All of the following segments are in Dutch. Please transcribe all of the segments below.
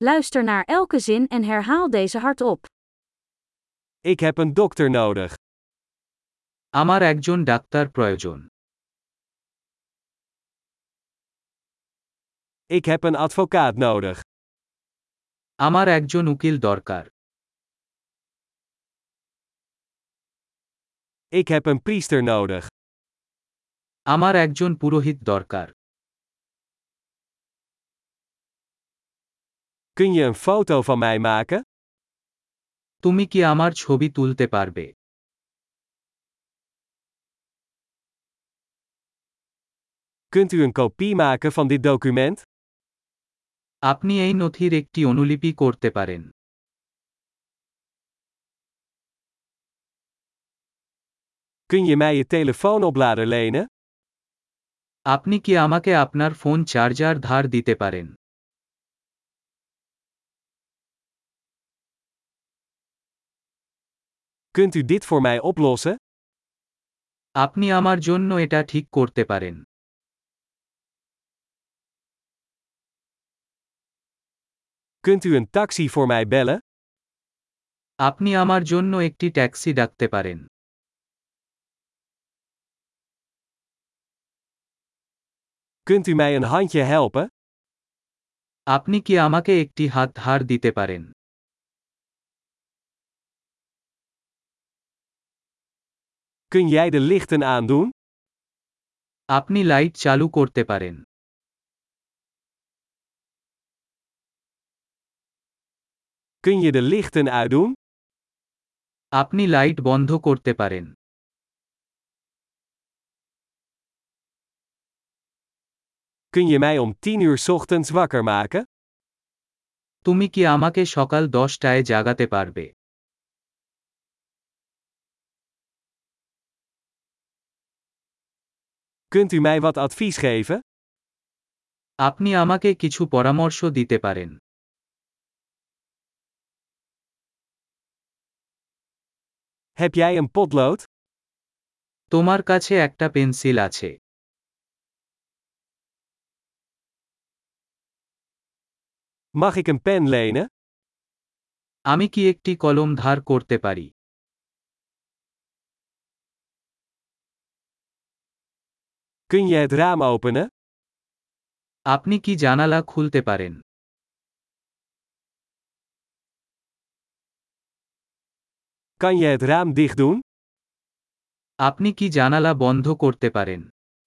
Luister naar elke zin en herhaal deze hardop. Ik heb een dokter nodig. আমার একজন ডাক্তার প্রয়োজন। Ik heb een advocaat nodig. আমার একজন উকিল দরকার। Ik heb een priester nodig. আমার একজন পুরোহিত দরকার। Kun je een foto van mij maken? তুমি কি আমার ছবি তুলতে পারবে? Kunt u een kopie maken van dit document? আপনি এই নথির একটি অনুলিপি করতে পারেন। Kun je mij je telefoonoplader lenen? আপনি কি আমাকে আপনার ফোন চার্জার ধার দিতে পারেন? Kunt u dit voor mij oplossen? আপনি আমার জন্য এটা ঠিক করতে পারেন। Kunt u een taxi voor mij bellen? আপনি আমার জন্য একটি ট্যাক্সি ডাকতে পারেন। Kunt u mij een handje helpen? আপনি কি আমাকে একটি হাত ধার দিতে পারেন? Kun jij de lichten aandoen? আপনি লাইট চালু করতে পারেন। Kun je de lichten uitdoen? আপনি লাইট বন্ধ করতে পারেন। Kun je mij om 10 uur 's ochtends wakker maken? তুমি কি আমাকে সকাল 10টায় জাগাতে পারবে? Kunt u mij wat advies geven? আপনি আমাকে কিছু পরামর্শ দিতে পারেন। Heb jij een potlood? তোমার কাছে একটা পেন্সিল আছে। Mag ik een pen lenen? আমি কি একটি কলম ধার করতে পারি? Kun je het raam openen? আপনি কি জানালা খুলতে পারেন? Kan je het raam dicht doen? আপনি কি জানালা বন্ধ করতে পারেন?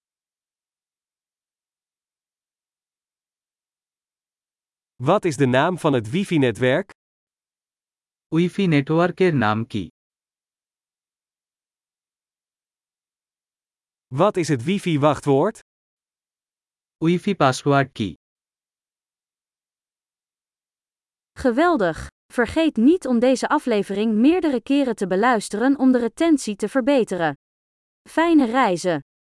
Wat is de naam van het wifi-netwerk? Wi-Fi নেটওয়ার্কের নাম কি? Wat is het wifi-wachtwoord? Wi-Fi password কি? Geweldig! Vergeet niet om deze aflevering meerdere keren te beluisteren om de retentie te verbeteren. Fijne reizen!